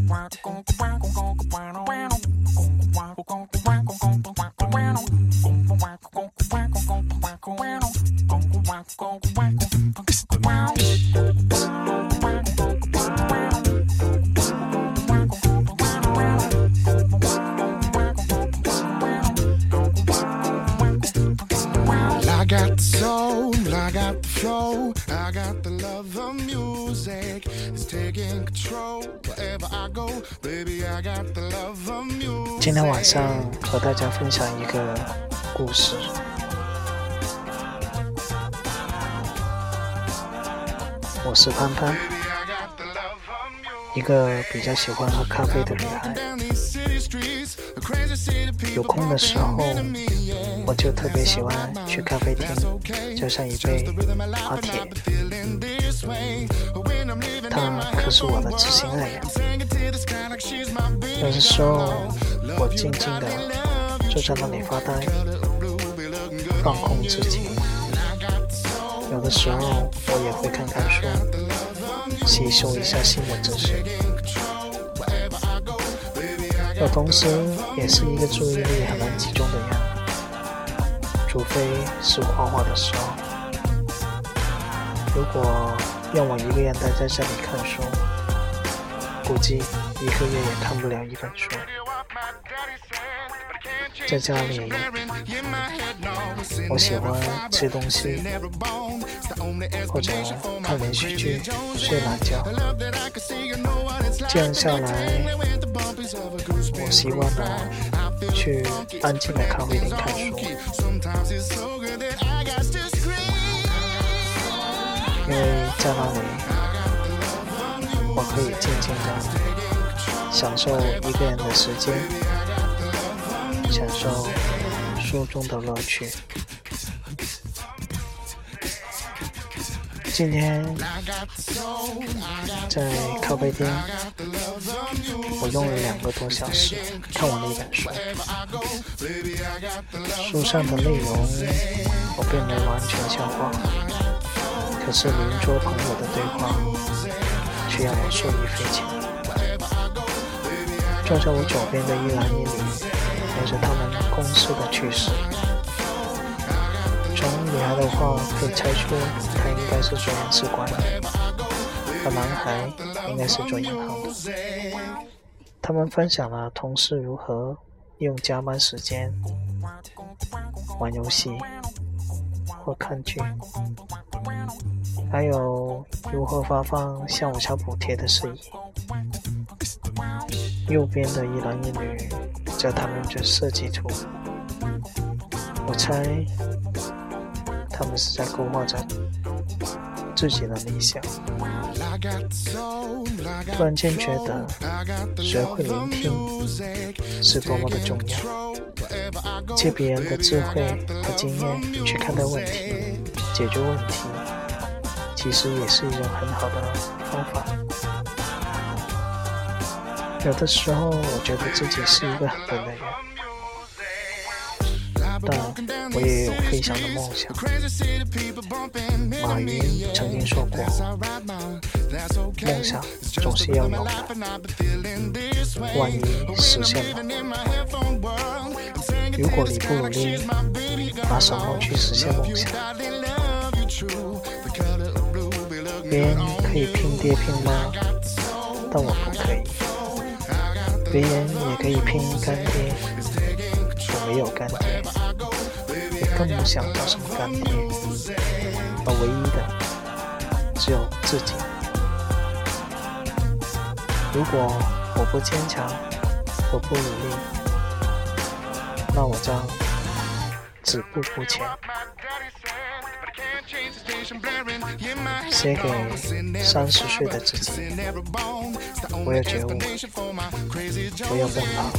got the soul, I got the flow, I got the love of music. It's taking control wherever I go, baby, I got the love of music. 今天晚上和大家分享一个故事。我是潘潘，一个比较喜欢喝咖啡的女孩。有空的时候，我就特别喜欢去咖啡厅，叫上一杯拿铁。她可是我的知心爱人。有的时候，我静静地坐在那里发呆，放空自己。有的时候，我也会看看书，吸收一下新闻知识。我同时也是一个注意力很难集中的人，除非是画画的时候。如果让我一个人待在这里看书，估计一个月也看不了一本书。在家里，我喜欢吃东西，或者看连续剧、睡懒觉。这样下来，我习惯了去安静的咖啡厅看书，因为在那里我可以静静的享受一个人的时间，享受书中的乐趣。今天在咖啡厅，我用了2个多小时看完了一本书。书上的内容我并没完全消化，可是邻桌朋友的对话却让我受益匪浅。坐在我左边的一男一女聊着他们公司的趣事。从女孩的话可以猜出她应该是做人事管理，而男孩应该是做银行的。他们分享了同事如何用加班时间玩游戏或看剧，还有如何发放下午茶补贴的事宜。右边的一男一女在谈论着设计图，我猜他们是在勾画着自己的理想。突然间觉得学会聆听是多么的重要，借别人的智慧和经验去看待问题、解决问题，其实也是一种很好的方法。有的时候我觉得自己是一个很笨的人，但我也有飞翔的梦想。马云曾经说过，梦想总是要有的，万一实现了，如果你不努力，拿什么去实现梦想？别人可以拼爹拼妈，但我不可以。别人也可以拼干爹，我没有干爹，也更不想找什么干爹，而唯一的只有自己。如果我不坚强，我不努力，那我将止步不前。写给30岁的自己，我要觉悟，不要变老。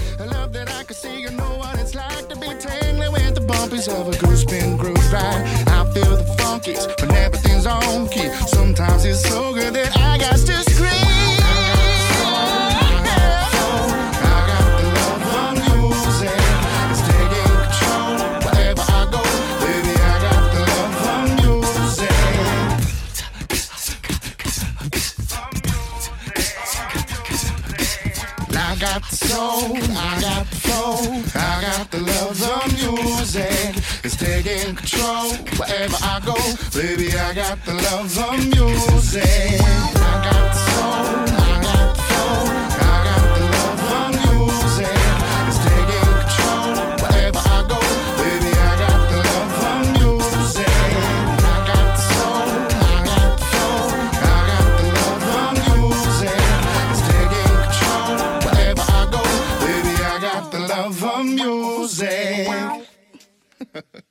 got the soul, I got the flow, I got the love of music. It's taking control wherever I go. Baby, I got the love of music. I got the soul, I got the flow, I got the love of music. It's taking control wherever I go. Baby, I got the love of music. I got the soul, I got the flow, I got the love of music. It's taking control wherever I go. Baby, I got the love of music.